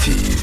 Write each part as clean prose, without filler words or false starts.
Radioactive.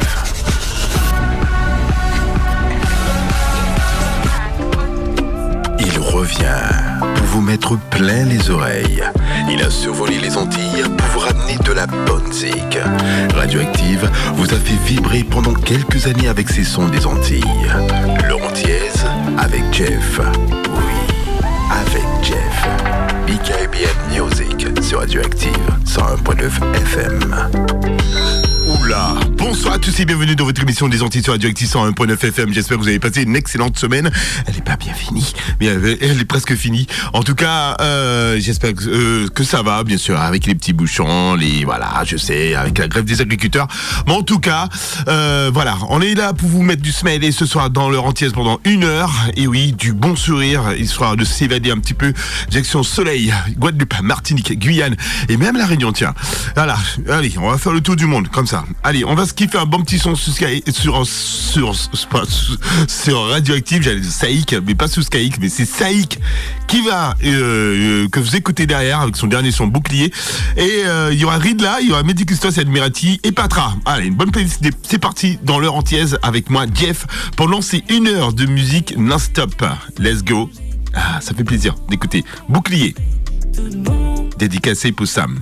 Il revient pour vous mettre plein les oreilles. Il a survolé les Antilles pour vous ramener de la bonne zik. Radioactive vous a fait vibrer pendant quelques années avec ses sons des Antilles. Laurent Thiès avec Jeff. Oui, avec Jeff. BKBN Music sur Radioactive 101.9 FM. Oula, bonsoir à tous et bienvenue dans votre émission des Antilles sur Radioactive 101.9 FM. J'espère que vous avez passé une excellente semaine. Elle n'est pas bien finie, mais elle est presque finie. En tout cas, j'espère que ça va, bien sûr, avec les petits bouchons, voilà, je sais, avec la grève des agriculteurs. Mais en tout cas, voilà, on est là pour vous mettre du smiley ce soir dans l'heure entière pendant 1 heure. Et oui, du bon sourire, histoire de s'évader un petit peu. Direction Soleil, Guadeloupe, Martinique, Guyane et même La Réunion, tiens. Voilà, allez, on va faire le tour du monde, comme ça. Allez, on va se kiffer un bon petit son sur Radioactive, j'allais dire Saïk, mais pas sous Skyik, mais c'est Saïk qui va, que vous écoutez derrière avec son dernier son Bouclier. Et il y aura Ridla, il y aura Mehdi Custos, Admirati et Patra. Allez, une bonne playlist, c'est parti dans l'heure entière avec moi, Jeff, pour lancer 1 heure de musique non-stop. Let's go. Ah, ça fait plaisir d'écouter Bouclier. Dédicacé pour Sam.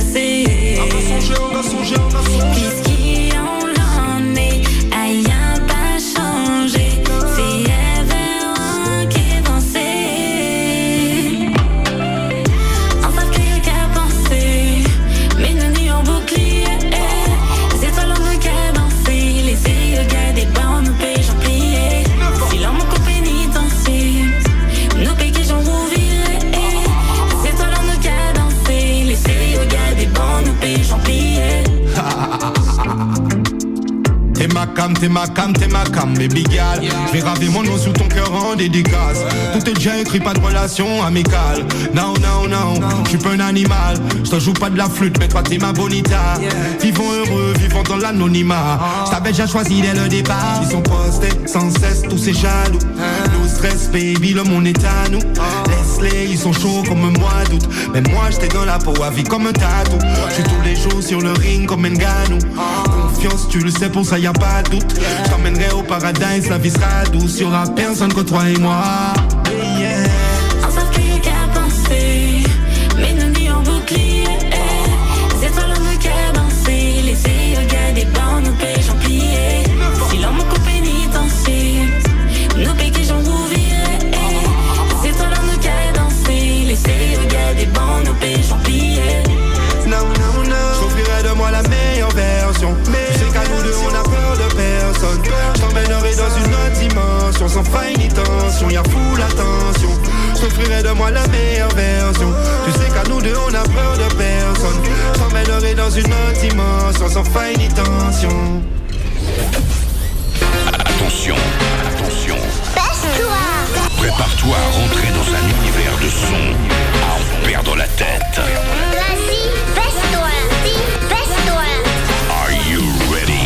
T'es ma cam, baby gal. Je vais graver mon nom sous ton cœur en dédicace. Tout est déjà écrit, pas de relation amicale. Non, je suis pas un animal. Je te joue pas de la flûte, mais toi t'es ma bonita. Vivons heureux, vivons dans l'anonymat. Je t'avais déjà choisi dès le départ. Ils sont postés sans cesse, tous ces jaloux. No stress, baby, le monde est à nous. Laisse-les, ils sont chauds comme un mois d'août. Mais moi j'étais dans la peau à vie comme un tatou. Je suis tous les jours sur le ring comme un ganou. Confiance, tu le sais, pour ça y a pas de doute. Je t'emmènerai au paradis, la vie sera douce. Y'aura personne que toi et moi. Yeah. On savent qu'il y a qu'à penser, mais nous dit en bouclier. C'est toi l'homme qui a dansé. Laissez regarder pas nos péchés en plié. Si l'homme coupe pénitencier, nos péchés j'en rouviré. C'est toi l'homme qui a dansé. Laissez regarder pas nos péchés en plié. Non, j'offrirai de moi la meilleure version. Tu sais qu'à nous deux on a peur de personne. Je t'emmènerai dans une autre dimension. Sans faille ni tension, y'a full attention. J'offrirai de moi la meilleure version. Tu sais qu'à nous deux on a peur de personne. Je t'emmènerai dans une autre dimension. Sans faille ni tension. Attention. Prépare-toi à rentrer dans un univers de son à en perdre la tête. Vas-y, baisse-toi. Are you ready?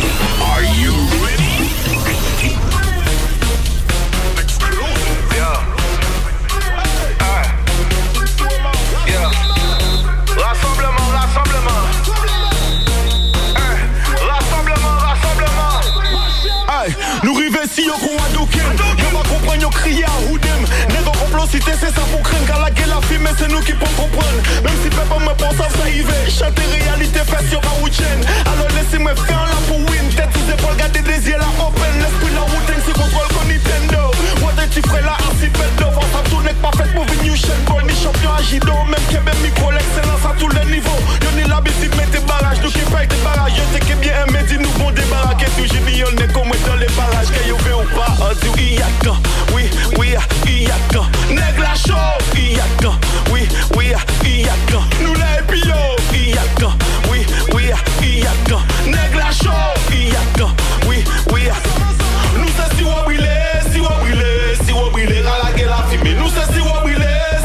Nous river si yo qu'on a doken. Yo va comprendre, yo crier à Houdem. Négo complocité, c'est ça pour craindre. Car la gueule a filmé, c'est nous qui pouvons comprendre. Même si peuple me pense à ça y va. Chanter réalité, fait sur un week-end. Alors laissez-moi faire là pour win. Tête sous épaule, garder des yeux là open. L'esprit la routine, c'est contrôle qu'on Nintendo. What tu ferais là, archipel d'or. Ça tourne pas fait pour venir chaîne. Ni champion à Gido, même qui est micro, l'excellence à tous les niveaux. Yo ni l'habitude, mais tes barrages. Nous qui paye tes barrages. Yo t'es qui bien aimé, dis nous bon débarras. Qu'est-ce que j'ai mis, on est comme dans les barrages. Que yo veut ou pas, on dit Iyaka. Oui, Iyaka. Nègre la show, Iyaka. Oui, Iyaka. Nous la épio, Iyaka. Oui, Iyaka. Nègre la show, Iyaka. Oui, nous c'est si wabile, à la gueule la fumée. Nous c'est si wabile,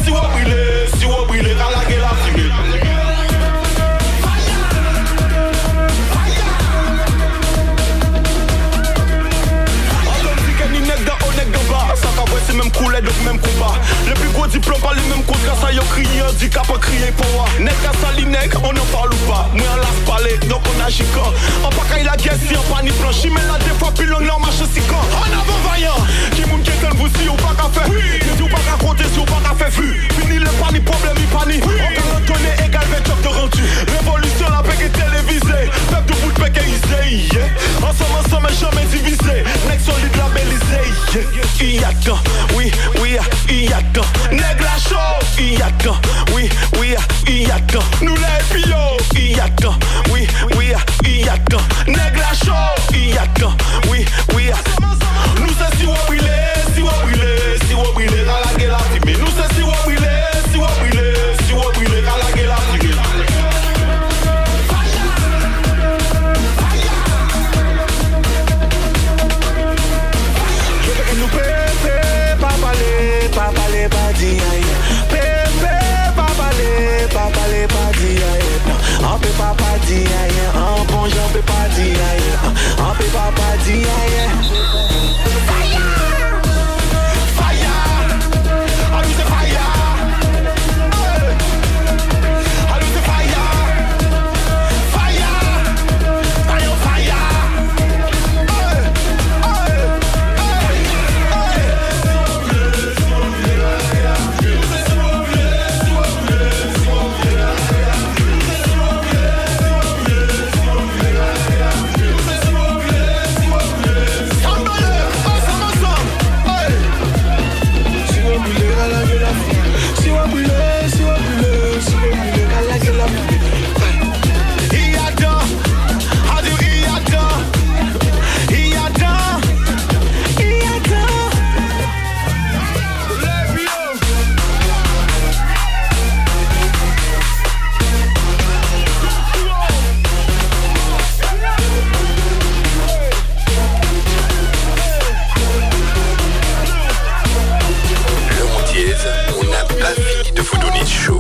à la gueule la fumée. Ça combat. Le plus gros diplôme pas le même contre ça y'a crié handicap à crier pour moi. Nèg à sali nèg, on en parle ou pas. Moi on laisse parler, donc on agit quand. En pas qu'il la guerre si on pas ni planche. Mais là des fois plus long là on marche si quand. En avant vaillant, qui moun qui est vous si ou pas qu'à faire. Si ou pas qu'à compter, si ou pas qu'à faire vu. Fini le pas ni problème ni pas ni. On peut donner égal 20 heures de rendu. Révolution la paix est télévisée. Peuple de bout de paix isé. Ensemble jamais divisé. Nèg solide labellisé. Il y a temps, oui, il y a temps. Nèg la chaud, il y a temps, oui, il y a temps. Nous les pio, il y a temps, oui, il y a temps. Nèg la chaud, il y a temps, oui. Nous c'est si on brûle, si on brûle, à la gueule la fumée. Nous c'est si on brûle, si on brûle, à la gueule la fumée. Nous pépé, pas parler, pas dire pépé, pas parler, pas dire on peut pas dire en bon j'en peux pas dire on peut pas dire On n'a pas fini de vous donner chaud.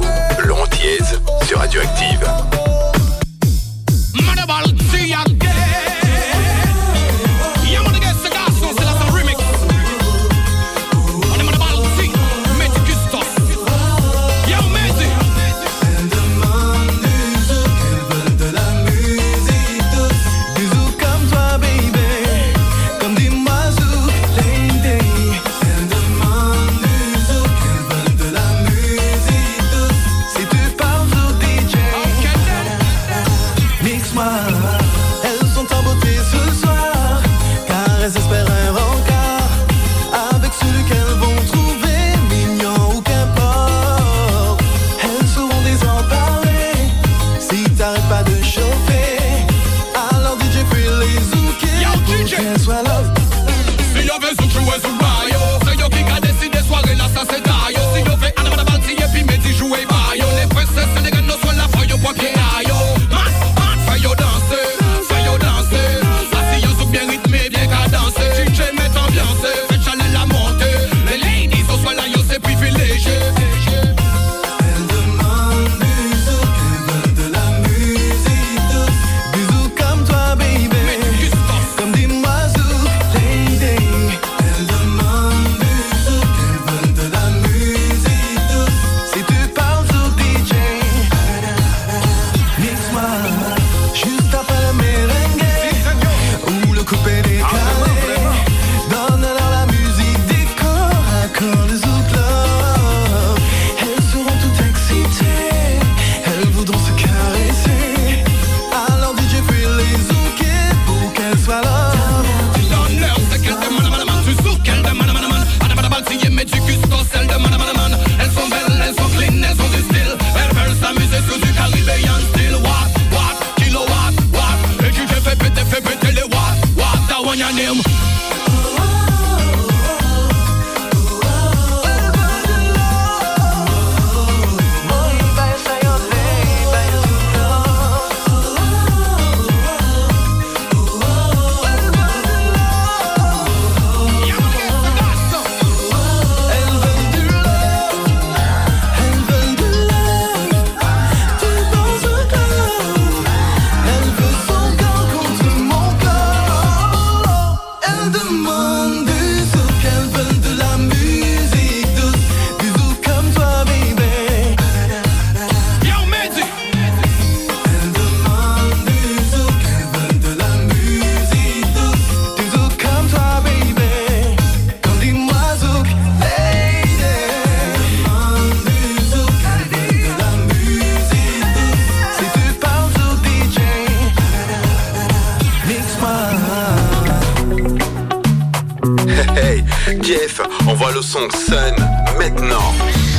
le son Sun maintenant.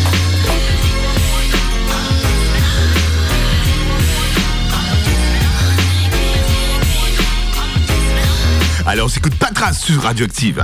Alors, on s'écoute Patras sur Radioactive.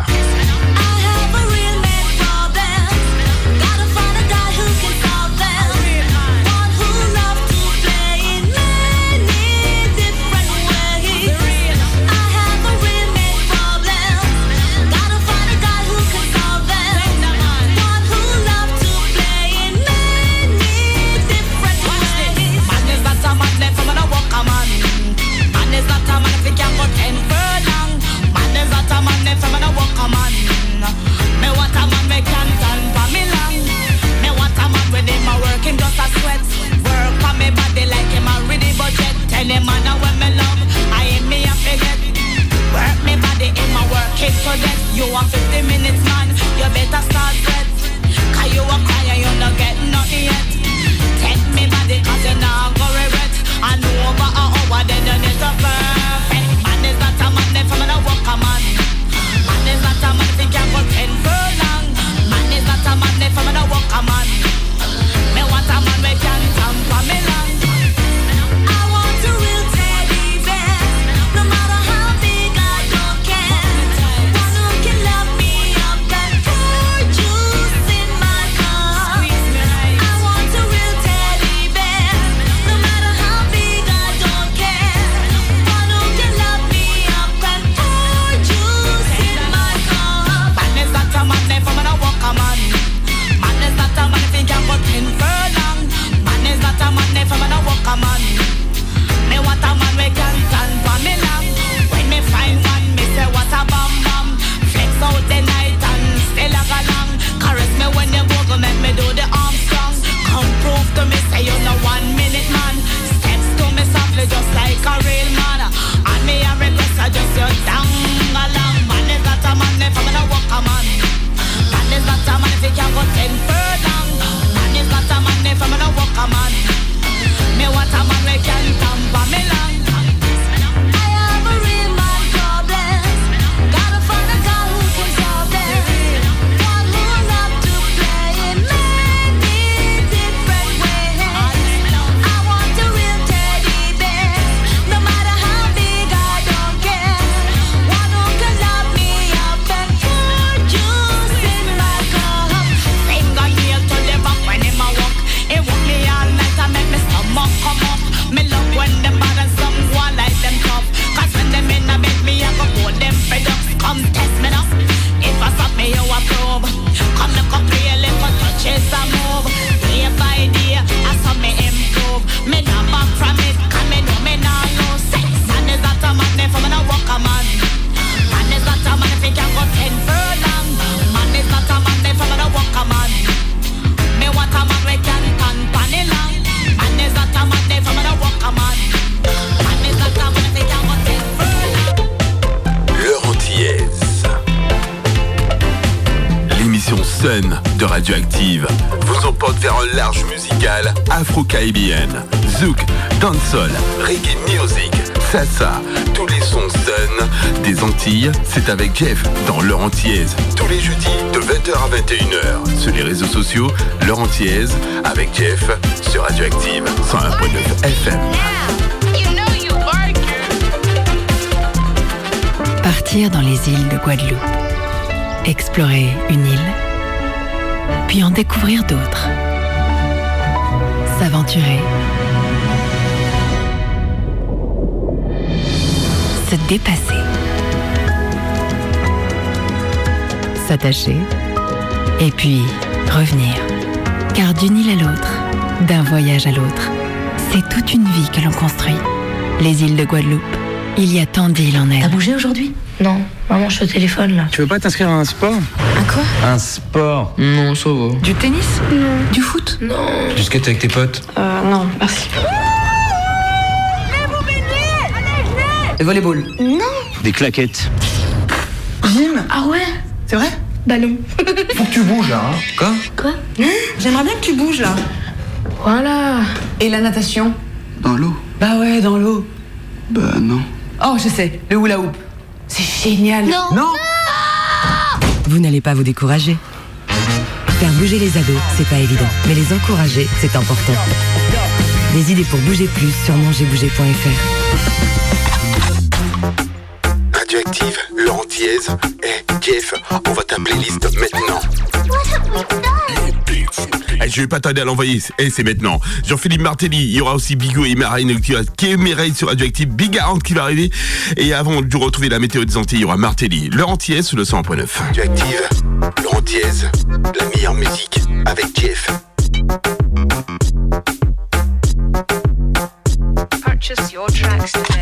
You want 50 minutes, man, you better start red. Cause you a cry and you not get nothing yet. Take me body cause you not go regret. And over an hour then you need to perfect. Man is not a man if I'm gonna walk a man. Man is not a man if he can't go 10 furlong. Man is not a man if I'm gonna walk a man. Me want a man we can tamper me long. I want a real teddy bear. No matter how big I don't care. Love me up and pour juice in my cup. I want a real teddy bear. No matter how big I don't care. One who can love me up and pour juice in my cup. Man is not a man if I'm gonna walk a man. Man is not a man if he can go 10 furlong. Man is not a man if I'm gonna walk a man. Me want a man we can stand for me long. When me find one, me say what a bam bam. Out the night and still a go long. Caress me when you go make me do the Armstrong. Come prove to me say you're no 1 minute man. Steps to me softly just like a real man. And me a request I just you down along. Man is not a man if I'm gonna walk a man. Man is not a man if he can go 10 furlong. Man is not a man if I'm gonna walk a man. Me want a man we can tamper me long. I have a real man problem. Gotta find a guy who can solve them. One who love to play in many different ways. I want a real teddy bear. No matter how big I don't care. One who can love me up and pour juice in my cup. Finger nail to the back when him a walk. He walk me all night and make me stomach come up. Me love when them bad and some go like them tough. Cause when them in a bed me I go hold them fed up. Come test me now. If I stop me you a probe. Come look up play a little touches and move. Day by day I saw me improve. Me not back from it cause me know me not lose. Man is not a man if I'm gonna walk a man. Man is not a man if he can go 10 furlong. Man is not a man if I'm gonna walk a man. Me want a man we can stand panny long. Man is not a man if I'm gonna walk a man. Man is not a man if he can go 10 furlong. L'heure antillaise. L'émission Sun de Radioactive vous emporte vers un large musical afro-caribéenne. Zouk, dancehall, reggae music, salsa, tous les sons Sun des Antilles, c'est avec Jeff dans l'heure antillaise. Tous les jeudis de 20h à 21h. Sur les réseaux sociaux, l'heure antillaise avec Jeff sur Radioactive 101.9 FM. Partir dans les îles de Guadeloupe. Explorer une île, puis en découvrir d'autres. S'aventurer. Se dépasser. S'attacher. Et puis revenir. Car d'une île à l'autre, d'un voyage à l'autre, c'est toute une vie que l'on construit. Les îles de Guadeloupe. Il y a tant d'îles en elle. T'as bougé aujourd'hui ? Non, maman, je suis au téléphone là. Tu veux pas t'inscrire à un sport ? À quoi ? Un sport ? Non, ça va. Du tennis ? Non. Du foot ? Non. Du skate avec tes potes ? Non, merci. Le volleyball ? Non. Des claquettes ? Gym ? Ah ouais ? C'est vrai ? Bah non. Faut que tu bouges là, hein. Quoi ? Quoi ? J'aimerais bien que tu bouges là. Voilà. Et la natation ? Dans l'eau ? Bah ouais, dans l'eau. Bah non. Oh, je sais, le hula hoop. C'est génial. Non. Non. Vous n'allez pas vous décourager. Faire bouger les ados, c'est pas évident, mais les encourager, c'est important. Des idées pour bouger plus sur mongerbouger.fr. Radioactive, Laurent Thiez et Jeff, on va ta playlist maintenant. Je vais pas tarder à l'envoyer, c'est maintenant. Jean-Philippe Martelly, il y aura aussi Bigot et Marine qui est Mireille sur Radioactive, Big 40 qui va arriver. Et avant de retrouver la météo des Antilles, il y aura Martelly, Laurent Thiez sur le 100.9. Radioactive, Laurent Thiez, la meilleure musique avec Jeff. Purchase your tracks today.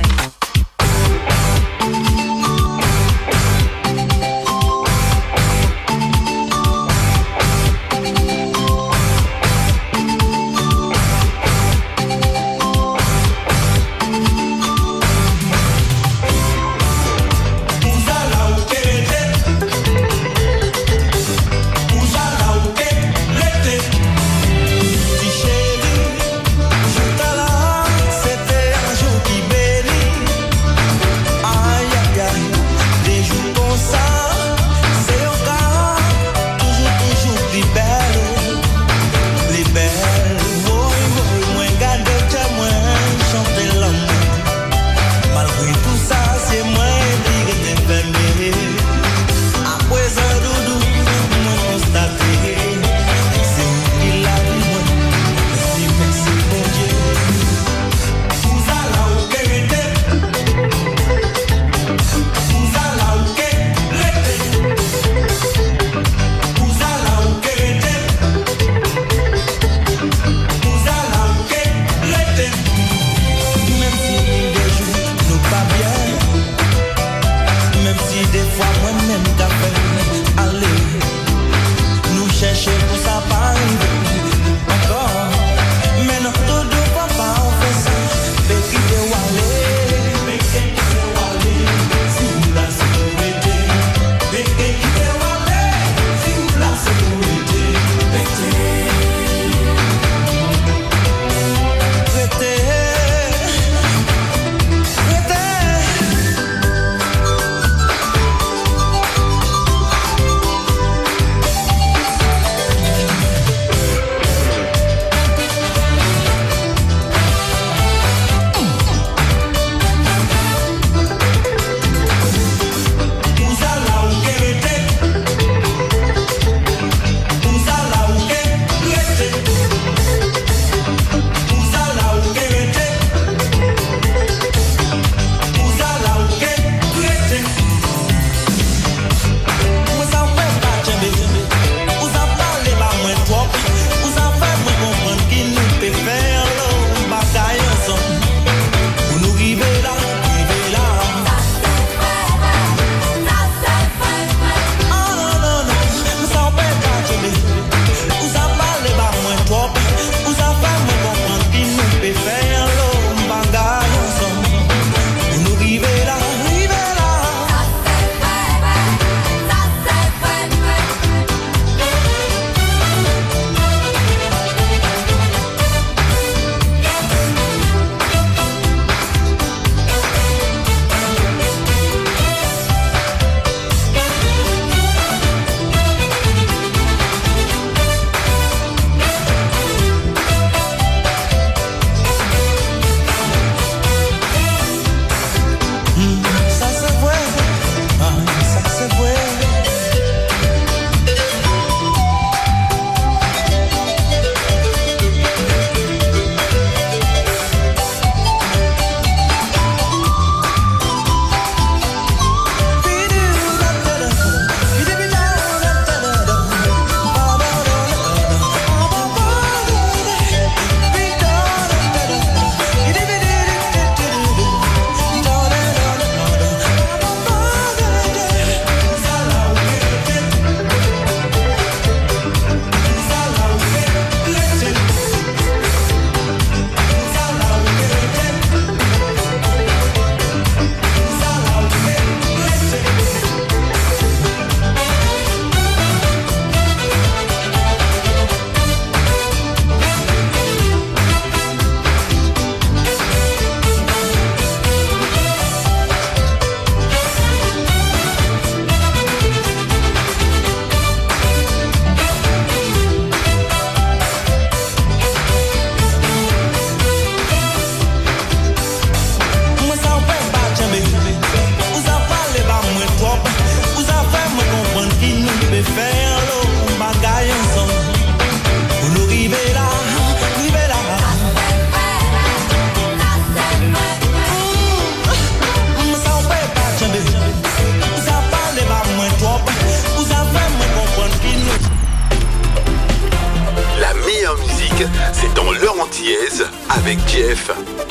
musique, c'est dans l'heure antillaise avec Jeff.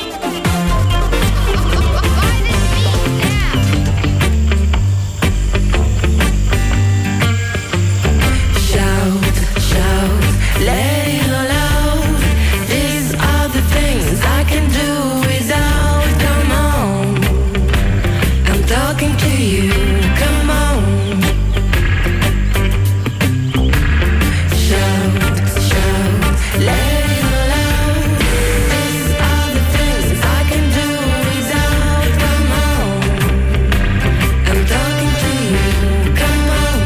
Let it all out. These are the things I can do without. Come on, I'm talking to you. Come on, shout, shout. Let it all out. These are the things I can do without. Come on, I'm talking to you. Come on.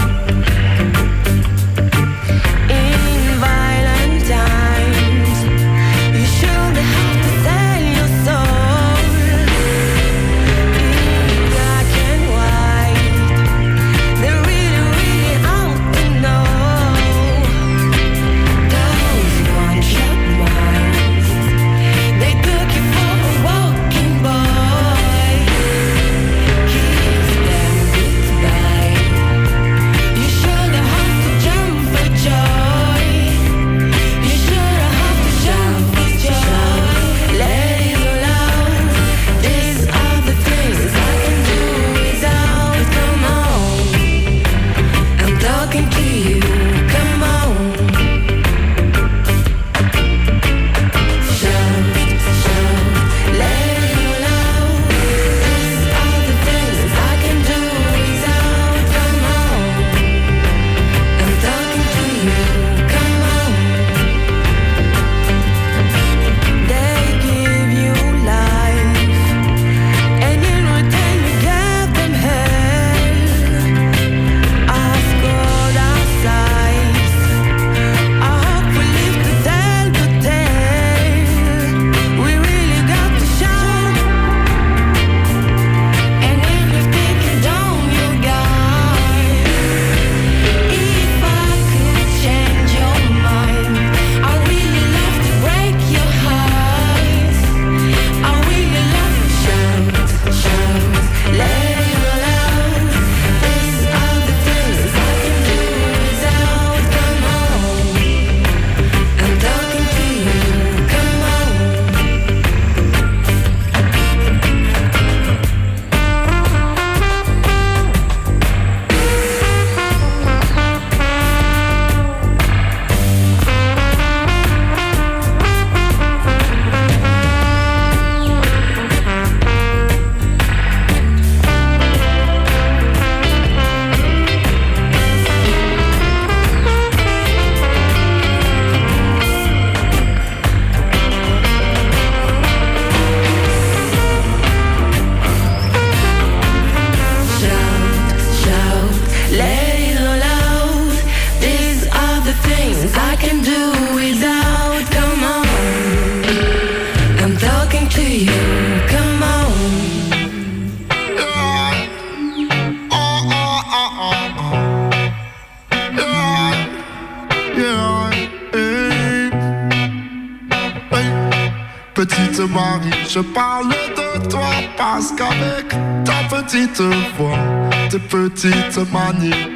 Petite Marie, je parle de toi parce qu'avec ta petite voix, tes petites manies,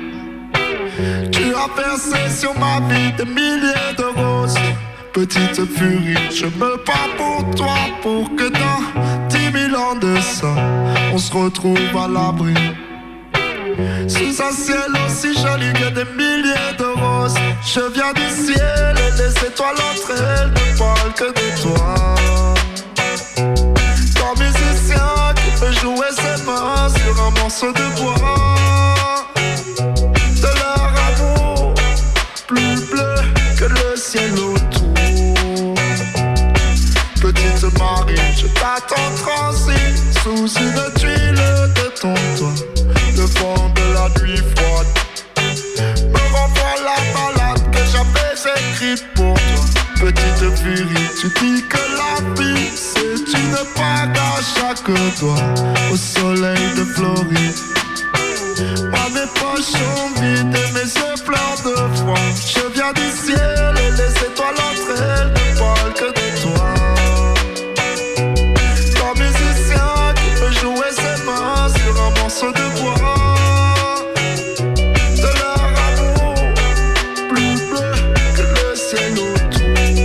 tu as versé sur ma vie des milliers de roses. Petite furie, je me bats pour toi pour que dans 10 000 ans de ça, on se retrouve à l'abri. Sous un ciel aussi joli que des milliers de roses. Je viens du ciel et les étoiles entre elles ne parlent que de toi. Ton musicien qui peut jouer ses mains sur un morceau de bois. De leur amour plus bleu que le ciel autour. Petite Marie, je t'attends transi sous une tuile de ton toit. Le vent de la nuit froide me renvoie la balade que j'avais écrite pour toi. Petite furie, tu dis que la vie c'est une bague à chaque doigt au soleil de Floride. Moi mes poches sont vides et mes yeux pleins de froid. Je viens du ciel et les étoiles entre elles ne parlent que de toi. Ton musicien qui peut jouer ses mains sur un morceau de bois. De leur amour plus bleu que le ciel autour.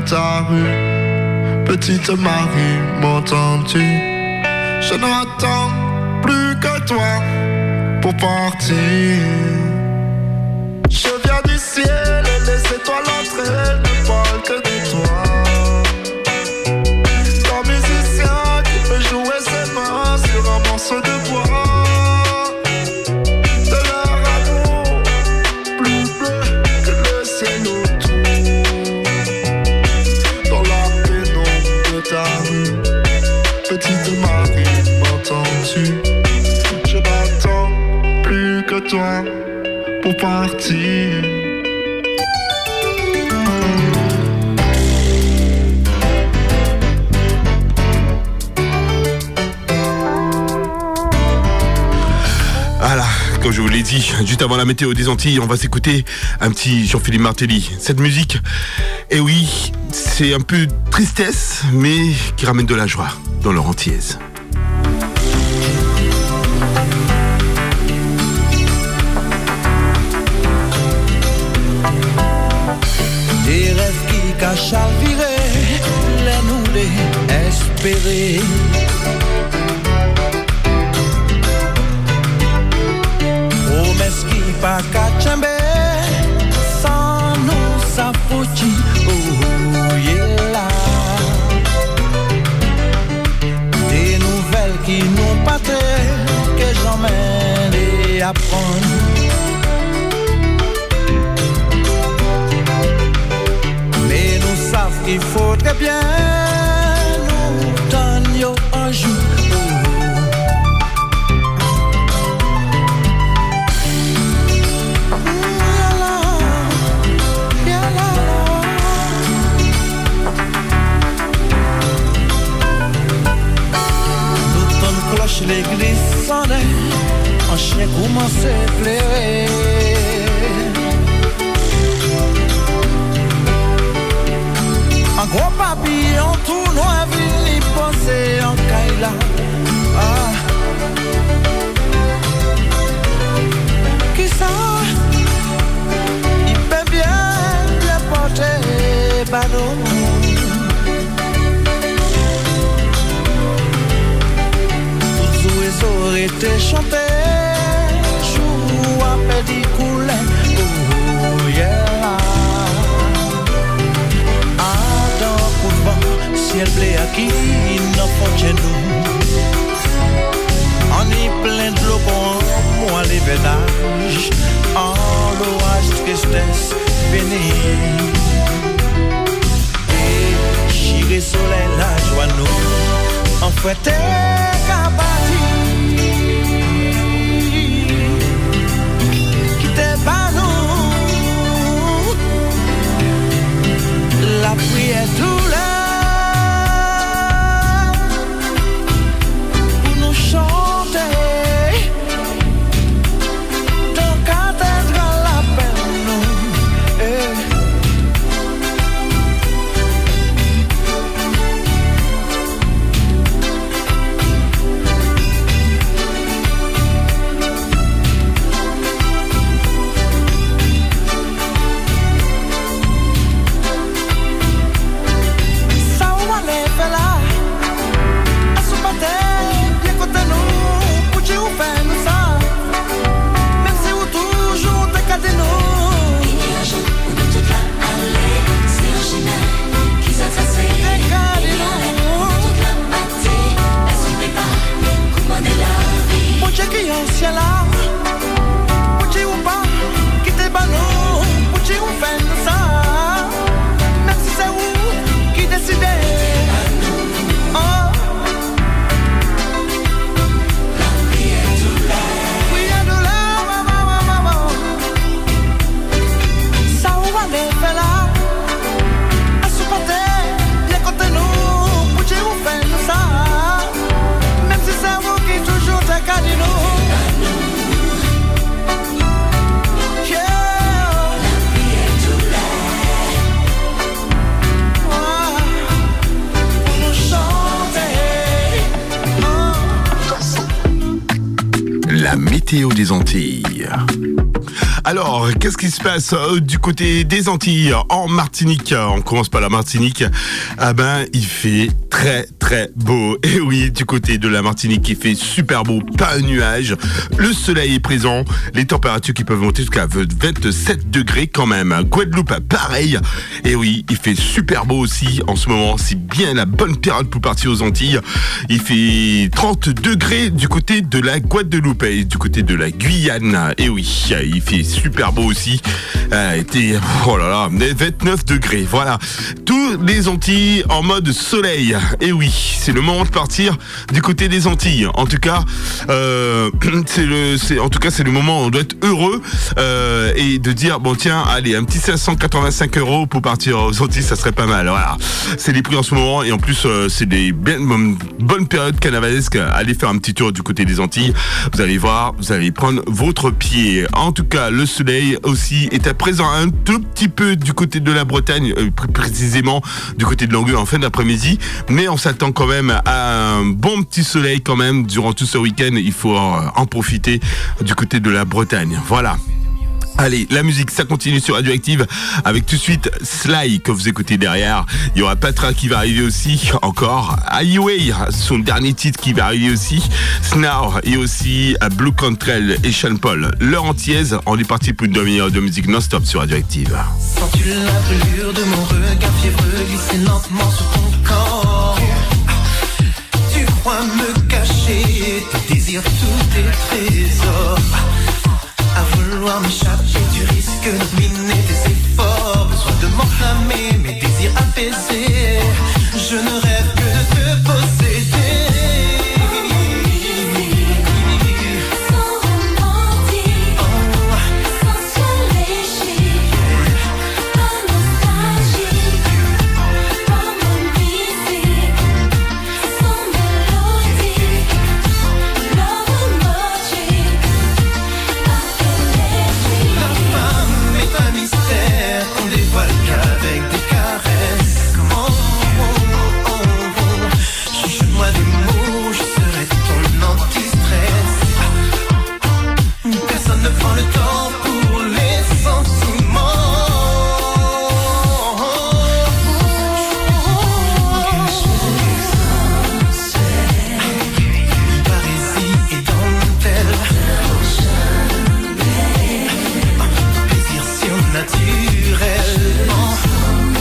ta rue, petite Marie, m'entends-tu? Je n'attends plus que toi pour partir. Je viens du ciel et les étoiles entre elles ne parlent que de toi. Ton musicien qui peut jouer ses mains sur un morceau de bois. De leur amour plus bleu que le ciel autour. Dans la pénombre de ta rue, petite Marie, m'entends-tu? Je n'attends plus que toi pour partir. Voilà, comme je vous l'ai dit, juste avant la météo des Antilles, on va s'écouter un petit Jean-Philippe Martelly. Cette musique, eh oui, c'est un peu tristesse, mais qui ramène de la joie dans leur entièse. Des rêves qui cachent à virer, les nous les espérer. Promesses qui pas qu'à tchember, sans nous s'approcher, oh yeah là. Des nouvelles qui nous battent, que j'emmène et apprendre. Mais nous savons qu'il faudrait bien nous donner un jour. L'église sonnait, un chien commençait à pleurer. Un gros papillon tout noir venu poser en caille là. Ah. Qui ça? Il peut bien porter ballon. Aurait été chanté, chou à petit coulet, oh yeah. Adam couvent, ciel bleu à qui n'en faut chez nous. On y plein de l'eau pour moi les vénages, en l'orage tristesse bénie. Et chiré soleil la joie nous, en fouetté cabati. La prière tout là pour nous chanter dans cathédrale la peine nous. la météo des Antilles. Alors, qu'est-ce qui se passe du côté des Antilles, en Martinique? On commence par la Martinique. Ah ben, il fait très très beau. Et oui, du côté de la Martinique, il fait super beau, pas un nuage. Le soleil est présent. Les températures qui peuvent monter jusqu'à 27 degrés quand même. Guadeloupe, pareil. Et oui, il fait super beau aussi en ce moment. C'est bien la bonne période pour partir aux Antilles. Il fait 30 degrés du côté de la Guadeloupe et du côté de la Guyane. Et oui, il fait super beau aussi. Oh là là, 29 degrés. Voilà. Tous les Antilles en mode soleil. Et oui, c'est le moment de partir du côté des Antilles. En tout cas, c'est le moment où on doit être heureux et de dire bon tiens, allez, un petit 585 € pour partir aux Antilles, ça serait pas mal. Voilà. C'est les prix en ce moment et en plus c'est des bonnes périodes carnavalesques. Allez faire un petit tour du côté des Antilles. Vous allez voir, vous allez prendre votre pied. En tout cas, le soleil aussi est présent un tout petit peu du côté de la Bretagne, précisément du côté de Langueux en fin d'après-midi, mais on s'attend quand même à un bon petit soleil quand même durant tout ce week-end. Il faut en profiter du côté de la Bretagne. Voilà. Allez, la musique, ça continue sur Radioactive avec tout de suite Sly que vous écoutez derrière. Il y aura Patra qui va arriver aussi, encore Highway, son dernier titre qui va arriver aussi, Snarl et aussi Blue Cantrell et Sean Paul. L'heure entière, on est parti pour une demi-heure de musique non-stop sur Radioactive. Sens-tu la brûlure de mon regard fiévreux glisser lentement sur ton corps? Tu crois me cacher tes désirs, tous tes trésors. À vouloir m'échapper, tu risques de miner tes efforts. Besoin de m'enflammer, mes désirs apaisés. Je ne rêve que de te posséder. Sans romantique, sensuel léger, pas nostalgique, pas mystique, sans mélodie, love emoji. La femme est un mystère qu'on dévoile qu'avec des caresses. Oh, oh, oh, oh. Chuchote-moi des mots, je serai ton anti-stress. Personne ne prend le temps pour les sentiments. Parésie et dentelle. Plaisir surnaturel.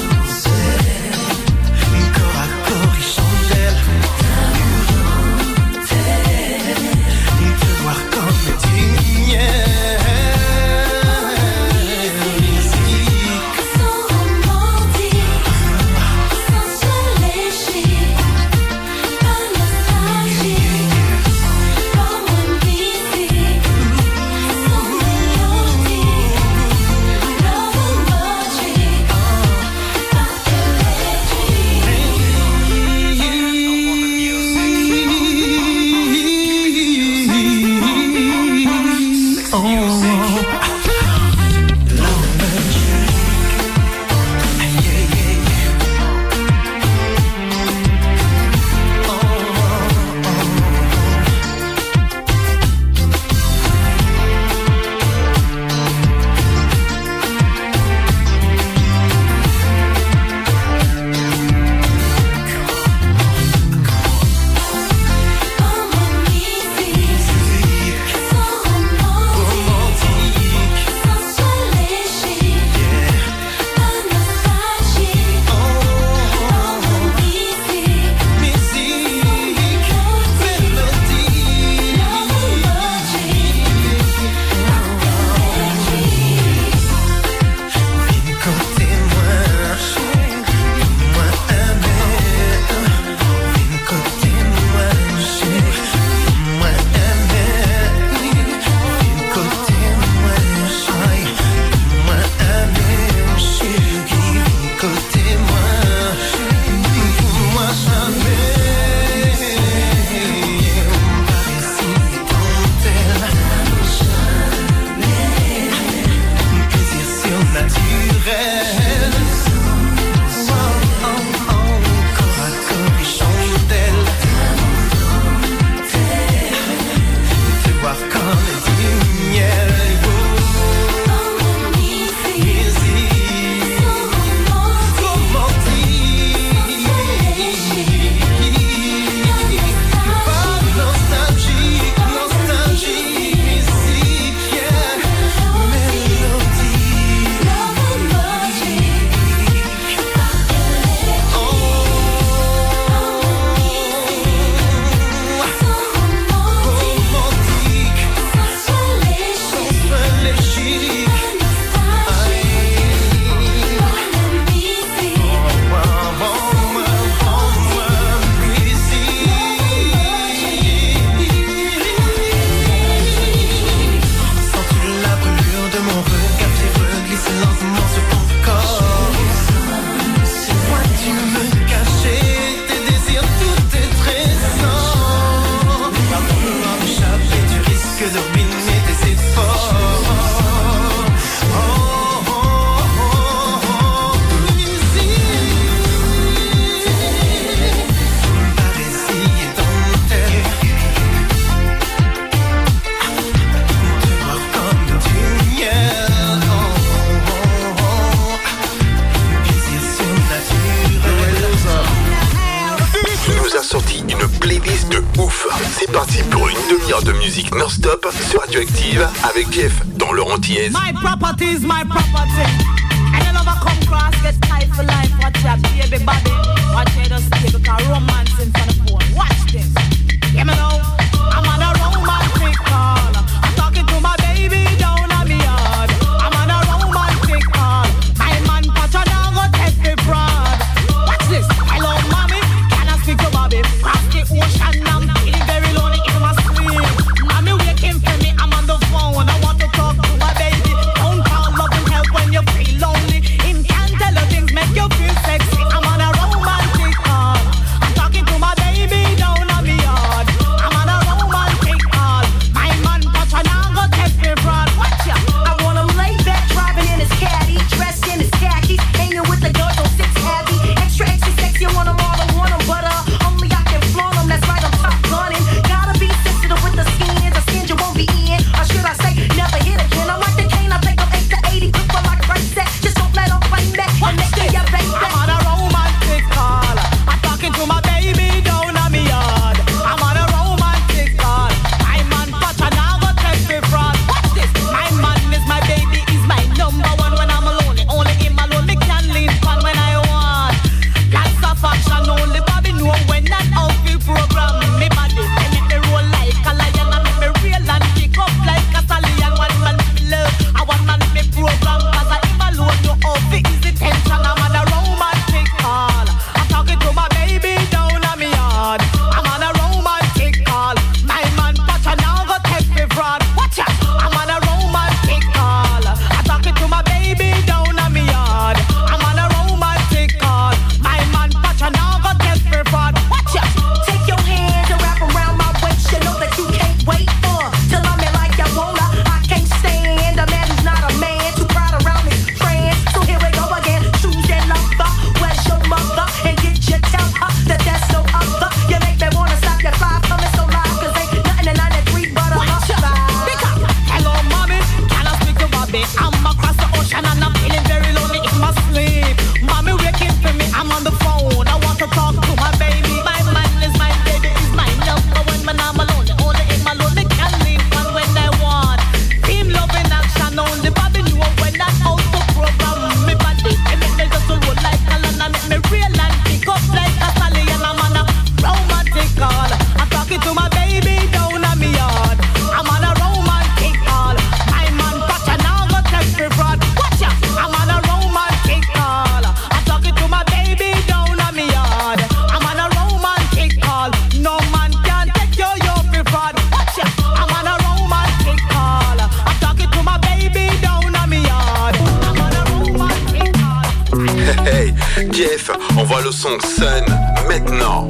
Move. C'est parti pour une demi-heure de musique non-stop sur Radioactive avec Jeff dans leur antillaise. My property is my property. And you never come cross, get tight for life. Watch your baby body. Watch you just stay because romance in front of phone. Watch this. Yeah, me know. I'm on a romantic call. I'm talking to my baby down on me yard. I'm on a romantic call. My man Pacha now go take me fraud. Watch this. Hello, mommy. Can I speak to Bobby? Cross the ocean. I'm feeling very lonely in my sleep. Mommy waking for me. I'm on the phone. I want to talk to my baby. Don't call love and help when you feel lonely. Him can't tell you things make you feel sexy. I'm on a romantic call. I'm talking to my baby down on me yard. I'm on a romantic call. My man Pacha now go take me fraud. Watch ya. I want him laid back, driving in his caddy, dressed in his khakis, hanging with the girls on 6 heavy. Extra sexy, I want him all, I want him, but only I can flaunt him. That's right, I'm top gunning. Gotta be sensitive with the skin you won't be in. Or should I say, never hit again. I'm like the cane, I take them 8 to 80, quick for like first set. Just don't let them fight back. I'm next to your baby. I'm on a romantic call. I'm talking to my baby down on me yard. I'm on a romantic call. My man Pacha now go take me fraud. Watch this. My man is my baby, is my number one when I'm alone. Only him alone me can lean on when I want. Lots of action, only Bobby know when that outfit program. Me body, they make me roll like a lion. I make me real and kick up like a stallion. One man me love, I one man me program. Cause I him alone, no outfit is the tension. I'm on a romantic call. I'm talking to my baby down on me yard. I'm on a romantic call. My man Pacha now go take me fraud. Watch out, I'm on a romantic call. I'm talking to my baby down on me yard. I'm on a romantic call. My man Pacha now go take me fraud. Watch out. Take your hands and wrap around my waist. You know that you can't wait till I'm in like I wanna. I can't stand a man who's not a man. Too proud around his friends. So here we go again. Choose that lover. Where's your mother? And get you tell her that there's no other. You make me wanna stop your fly coming so loud. Cause ain't nothing in 93 but a love ride. Hello, mommy. Can I speak to Bobby? I'm across the ocean and I'm feeling very lonely in my sleep. Mommy waking for me. I'm on the phone. I want to talk to my baby. My man is my baby, is my number one when I'm alone. Only in my lonely can leave on when I want. Team love in action. Only Bobby knew when that auto program. Me body, they make me just roll like a lana. Make me real and pick up like a stallion. I'm on a romantic call. I'm talking to my baby down on me yard. I'm on a romantic call. My man Pacha now go take me fraud. Watch out, I'm on a romantic call. I'm talking to my baby down on me yard. I'm on a romantic call. No man can take you for fraud. Watch out, I'm on a romantic call. I'm talking to my baby down on me yard. I'm on a romantic call. Hey, Jeff, envoie le son Sun maintenant.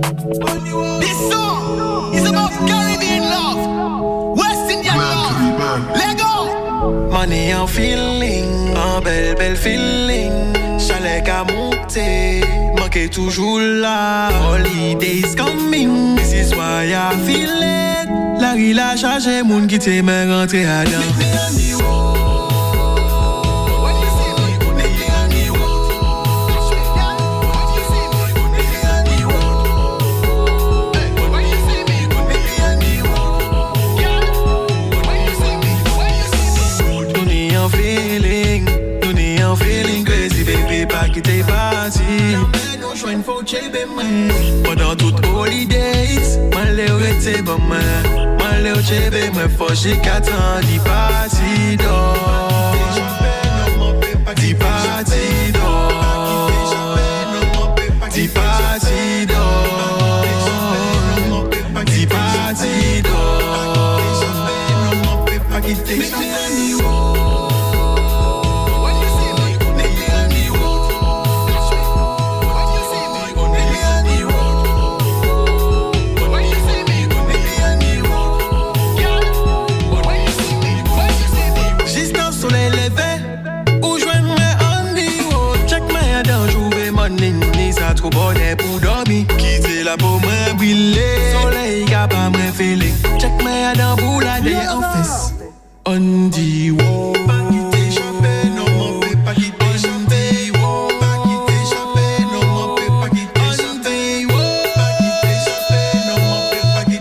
This song is about Caribbean love, West Indian love. Let go. Money en feeling, en belle feeling. Chalet qu'à monter, manqué toujours là. Holidays coming, this is why I feel it. La rue a chargé, moun qui t'aime rentrer à dedans. Quitter parti, pendant toutes holidays, malheur était bon moi, malheur chebe moi fâché 4 ans d'y parti d'or, d'y parti d'or, d'y parti d'or, d'y parti d'or. Trop bonnet pour dormir, quitter la peau moins brûlée. Soleil qui a pas moins feeling. Check my dans pour la day en face. On dit wow. Pas quitter champagne, non m'en fais pas quitter champagne. Pas quitter champagne, non m'en fais pas quitter champagne. Pas quitter champagne, non m'en fais pas quitter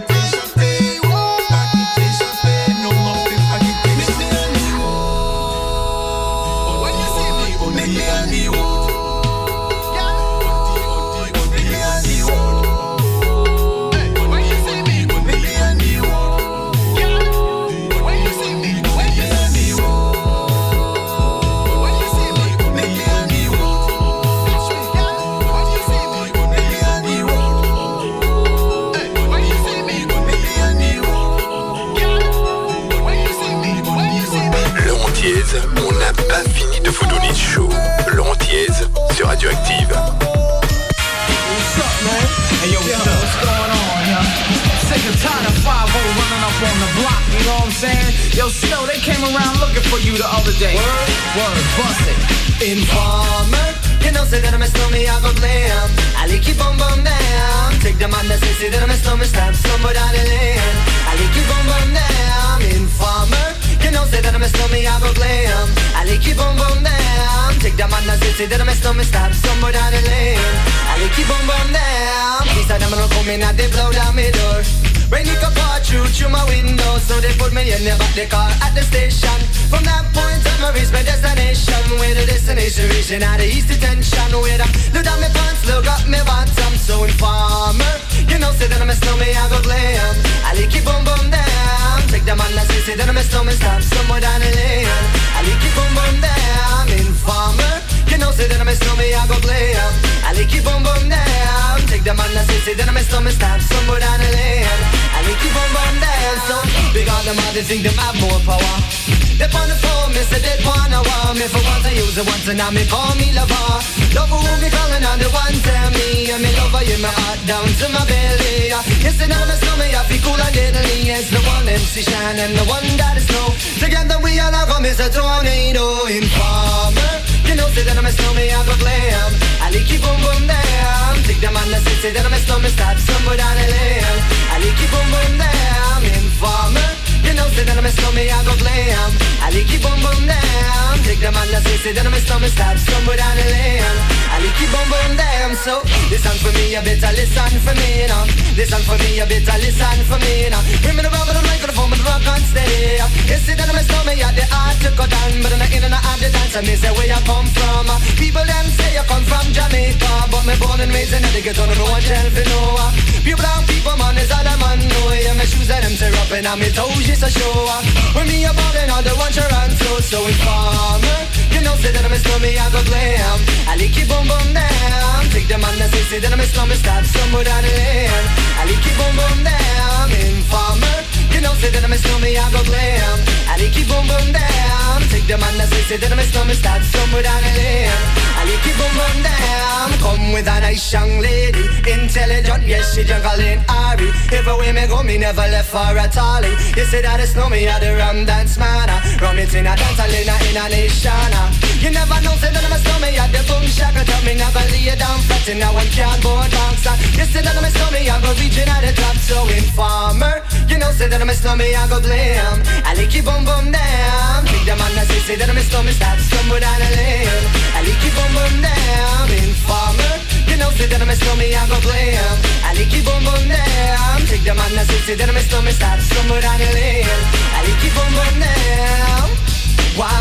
Yo, Snow, they came around looking for you the other day. Word, bust it. Informer, you know, say that I'm a snowman, I go glam. I like keep on down. Take the man that say that I'm a snowman, stab somebody down the lane. I like keep on down. Informer, you know, say that I'm a snowman, I go glam. I like keep on down. Take the man that say that I'm a snowman, stab somebody down the lane. I like keep on down. These are them gonna come in and they blow down my door. Rain it could pour through my window, so they put me in the back the car at the station. From that point on, I reached my destination. Where the destination reaching out the east detention. Where I look down my pants, look up my bottom. So informer, you know, say that I'm a snowman, I go glam. I like keep on down. Take the man that say that I'm a snowman, stop somewhere down the lane. I like keep on down. Informer, you know, say that I'm a snowman, I go glam. I like keep on down. Take the man that say that I'm a snowman, stop somewhere down the lane. I like keep on down. So big on them, they think them have more power. They on the phone, me say they wanna want me. For once I use it once and now me call me lover. Love who me calling on the one tell me. And me lover in my heart down to my belly. You say that I'm a snowman, I feel cool and deadly. It's the one MC Shine and the one that is snow. Together we all have a Mr. Tornado. Informer, you know say that I'm a snowman, I go glam. I like keep on down. Take the man that say that I'm a snowman, stop somewhere down the lane. I like keep on down. Informer, you know say that I'm a snowman, I go glam. I like keep on down. Take the man that say that I'm a snowman, stop somewhere down the lane. I like keep on down. So listen for me, you better listen for me now. Listen for me, you better listen for me now. Bring me the rubber, the microphone, but the rock and stay. You see that I'm a snowman, yeah, the art to go down, but I'm not in and out of the dance. And me say where you come from. People them say you come from Jamaica, but me born and raised in the ghetto, no one tell for no. People and people, man, is all a man know. Yeah, my shoes and them tear up and on me toes just a show. When me a ballin', all the ones you run so informer, you know say that I'm a snowman, I go glam. I like keep on down. Take the man that say that I'm a snowman, stop somewhere down the lane. I like keep on down. Informer, you know say that I'm a snowman, I go glam. I like keep on down. Take the man that say that I'm a snowman, stop somewhere down the lane. I like keep on down. Come with a nice young lady, intelligent, yes she juggling Ari. Everywhere me go, me never left for a tally. You say that it's no me at the rum dance man. Rum it in a dance, in a nation. You never know, say that I'm a snowman at the boom shaka. Tell me never lay you down flat in a one cardboard box. You say that I'm a snowman, I go reaching at the top. So informer, you know, say that I'm a snowman, I go glam. I like keep on down. Take the man that say that I'm a snowman, stop somewhere down the lane. I like keep on down. Informer, you know, say that I'm a snowman, I go glam. I like keep on down. Take the man that say that I'm a snowman, stop somewhere down the lane. I like keep on down. Why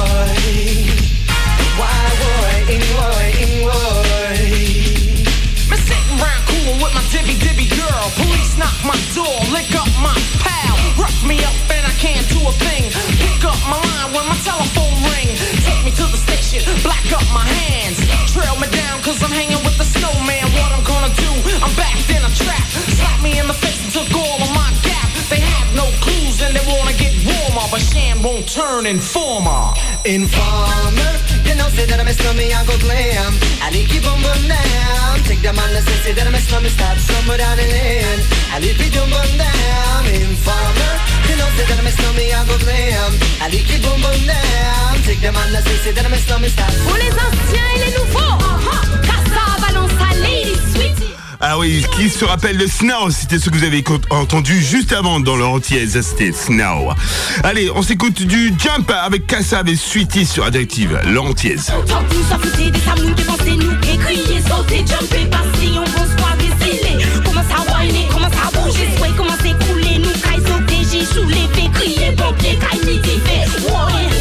Me sitting round cool with my dibby girl. Police knock my door, lick up my pal. Rough me up and I can't do a thing. Pick up my line when my telephone ring. Take me to the station, black up my hands. Trail me down cause I'm hanging with the snowman. What I'm gonna do, I'm backed in a trap. Slap me in the face and took all of my gap. They have no clues and they wanna get warmer, but Shan won't turn informer. Informer, you know say that I'm a snowman, I go glam. I like keep on down. Take the man that say that I'm a snowman, stop somewhere down the lane. I like keep on down. Informer, you know say that I'm a snowman, I go glam. I like keep on down. Take the man that say that I'm a snowman, stop. Pour les anciens et les nouveaux, Cassa balance à Lady Sweetie. Ah oui, qui se rappelle de Snow? C'était ce que vous avez entendu juste avant dans leur entièse, c'était Snow. Allez, on s'écoute du Jump avec Cassa et Sweetie sur Radioactive, leur entièse. Tantôt ça faisait des samous, dépenser nous, et crier, sauter, jumper, passer, on pense pas déciler. Commence à whiner, commence à bouger, sway, commence à couler, nous caille, sauter, j'ai chou, les fait crier, pompier, caille, midi, fait, ouais.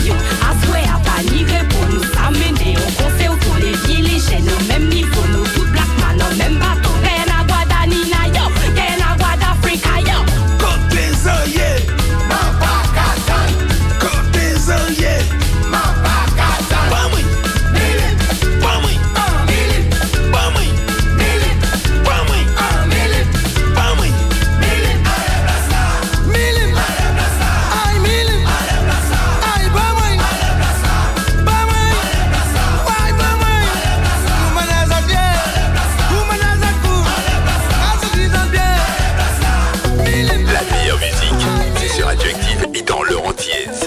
yo. À souhait à pas nigrer pour nous s'amener. On conseille autour les villes, les chaînes, au même niveau. Nous tout black man, au même bateau. Gain à Guadanina, yo. Gain à Guadafrica, yo. Côté Zoye, Mapakatan. Côté Zoye, Mapakatan. Bamui, Milim, Bamui, Milim, Bamui, Milim, Bamui, Milim, Bamui, Milim, Milim, ay Milim, ay Bamui, Bamui, ay Bamui. Humanaza bien, Humanaza cool, Azadizan bien, Milim. La meilleure musique, c'est sur Radioactive et dans leur entièse.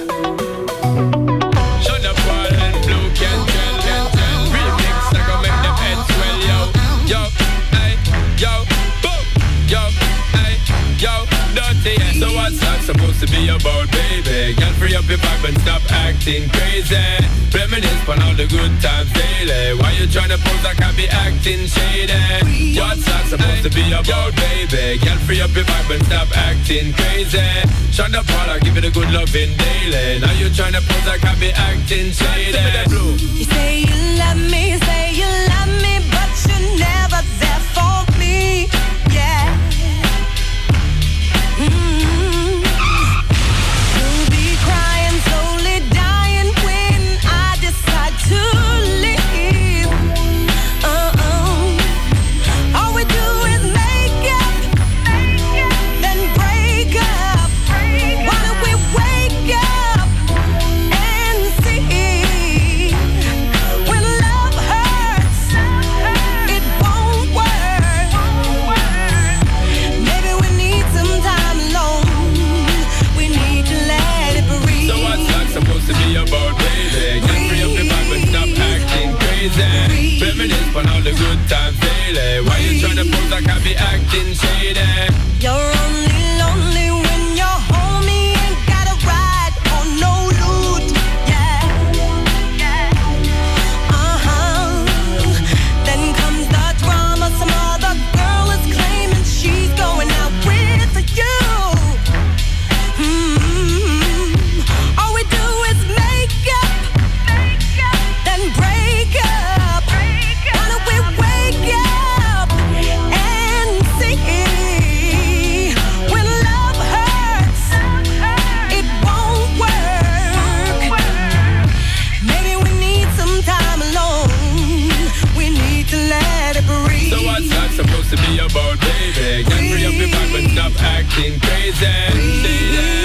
So what's that supposed to be about, baby? Girl, free up your vibe and stop acting crazy. Reminisce on all the good times daily. Why you tryna pose like I be acting shady? What's that supposed to be about, baby? Girl, free up your vibe and stop acting crazy. Shonda Paula, give it a good loving daily. Now you tryna pose like I be acting shady. You say you love me, but you're never there for me. Yeah. You'll be crying, slowly dying when I decide to leave. All we do is make up, then break up. Why don't we wake up and see? When love hurts, it won't work. Maybe we need some time alone. We need to let it breathe. So what's that supposed to be about, baby? Get free up your vibe and stop acting crazy. Reminisce on all the good times daily. Why you tryna pose like I be acting shady? You're only lonely when you're home. You ain't got a ride or no loot. Yeah. Then comes the drama. Some other girl is claiming she's going out with you. All we do is make up, then break up. Why don't we wake up and see? When love hurts, it won't work. Maybe we need some time alone. We need to let it breathe. So what's that supposed to be about, baby? Get free up your vibe and stop acting crazy.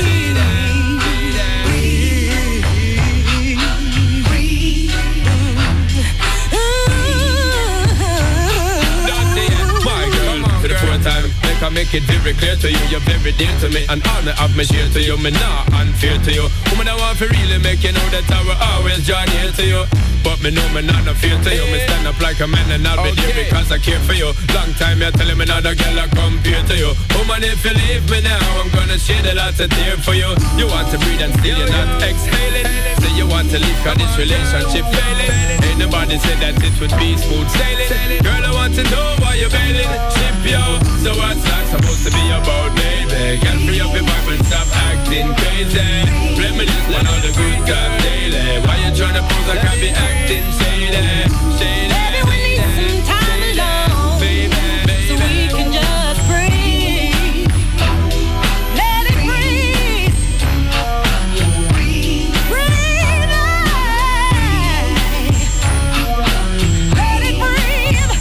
Time, make I make it very clear to you. You're very dear to me, and honor of me share to you. Me not unfair to you. Woman, I want to really make you know that I will always join here to you. But me know me not no fear to you. Me stand up like a man and I'll be there because I care for you. Long time you're telling me not a girl I compare to you. Woman, if you leave me now, I'm gonna shed a lot of tears for you. You want to breathe and still you're not exhaling. Say you want to leave cause this relationship failing. Ain't nobody said that it would be smooth sailing. Girl, I want to know why you're bailing. Ship yo. So what's that supposed to be about, baby? Girl, free up your vibe and stop acting crazy. Reminisce on all the good times daily. Why you tryna pose like I be acting shady? Shady. Maybe we need some time alone, so we can just breathe. Let it breathe. Breathe. Let it breathe.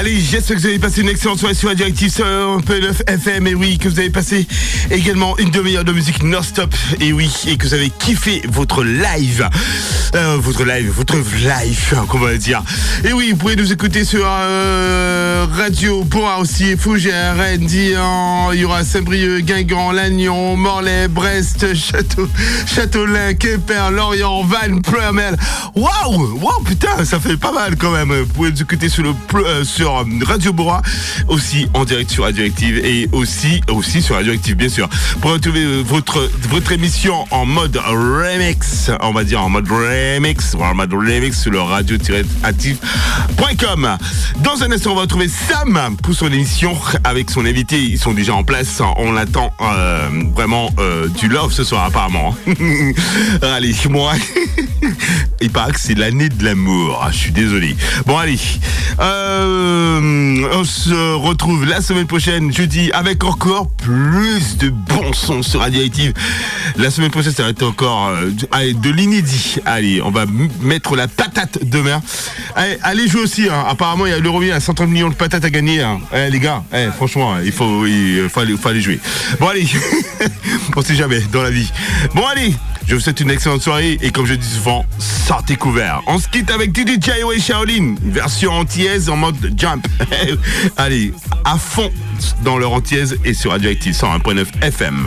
Allez, j'espère que vous avez passé une excellente soirée sur Radioactive sur 9 FM. Et oui, que vous avez passé également une demi-heure de musique non-stop. Et oui, et que vous avez kiffé votre live. Votre live, qu'on va dire. Et oui, vous pouvez nous écouter sur Radio Bourra aussi, Fougères, Rennes, Dinan, il y aura Saint-Brieuc, Guingamp, Lannion, Morlaix, Brest, Châteaulin, Quimper, Lorient, Vannes, Ploemel. Waouh, putain, ça fait pas mal quand même. Vous pouvez nous écouter sur Radio Bourra, aussi en direct sur Radioactive et aussi sur Radioactive bien sûr. Pour retrouver votre émission en mode remix, on va dire en mode remix sur le radio-active.com. Dans un instant, on va retrouver Sam pour son émission avec son invité. Ils sont déjà en place. On attend vraiment du love ce soir apparemment. Allez, moi, il paraît que c'est l'année de l'amour. Je suis désolé. Bon allez, on se retrouve la semaine prochaine, jeudi, avec encore plus de bons sons sur Radioactive. La semaine prochaine, ça va être encore de l'inédit. Allez, on va mettre la patate demain. Allez jouer aussi. Apparemment, il y a l'Euro, il y a 130 millions de patates à gagner. Les gars, franchement, il faut aller jouer. Bon allez, on sait jamais dans la vie. Bon allez, je vous souhaite une excellente soirée et comme je dis souvent, sortez couverts. On se quitte avec DJ et Shaolin, version antillaise en mode jump. Allez, à fond dans leur antillaise et sur Radioactive 101.9 FM.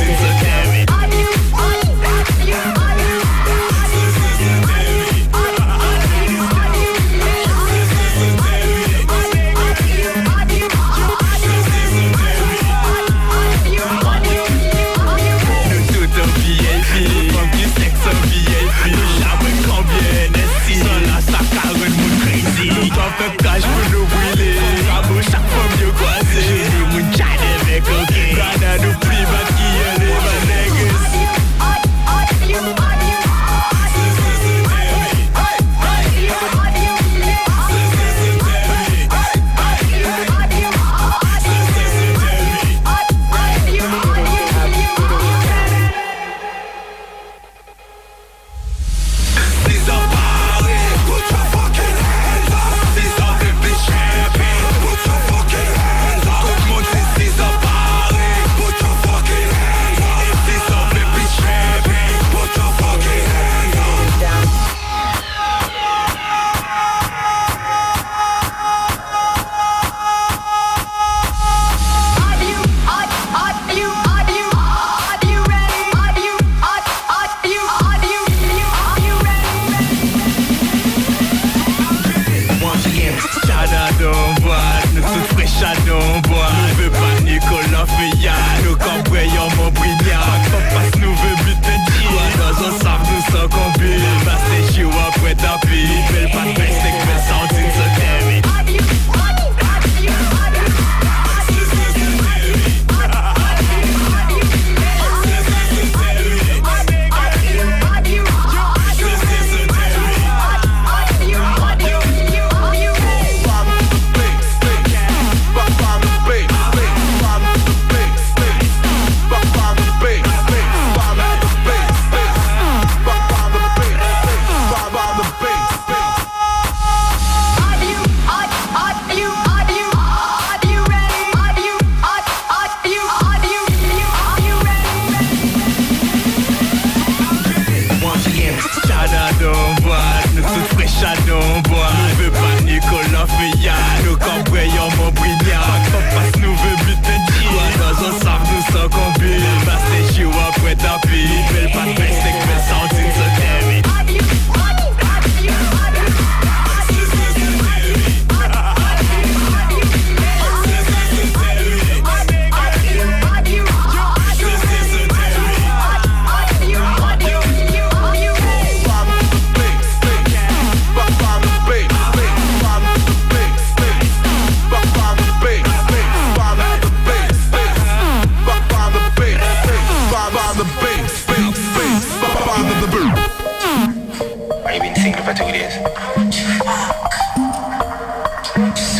Cache pour nous brûler, à chaque fois mieux croisé. J'ai dit mon tchad avec ok. Quand on nous prie, ma qui est les manegas.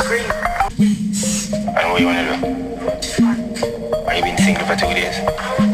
What you wanna do? Why you been single for 2 days?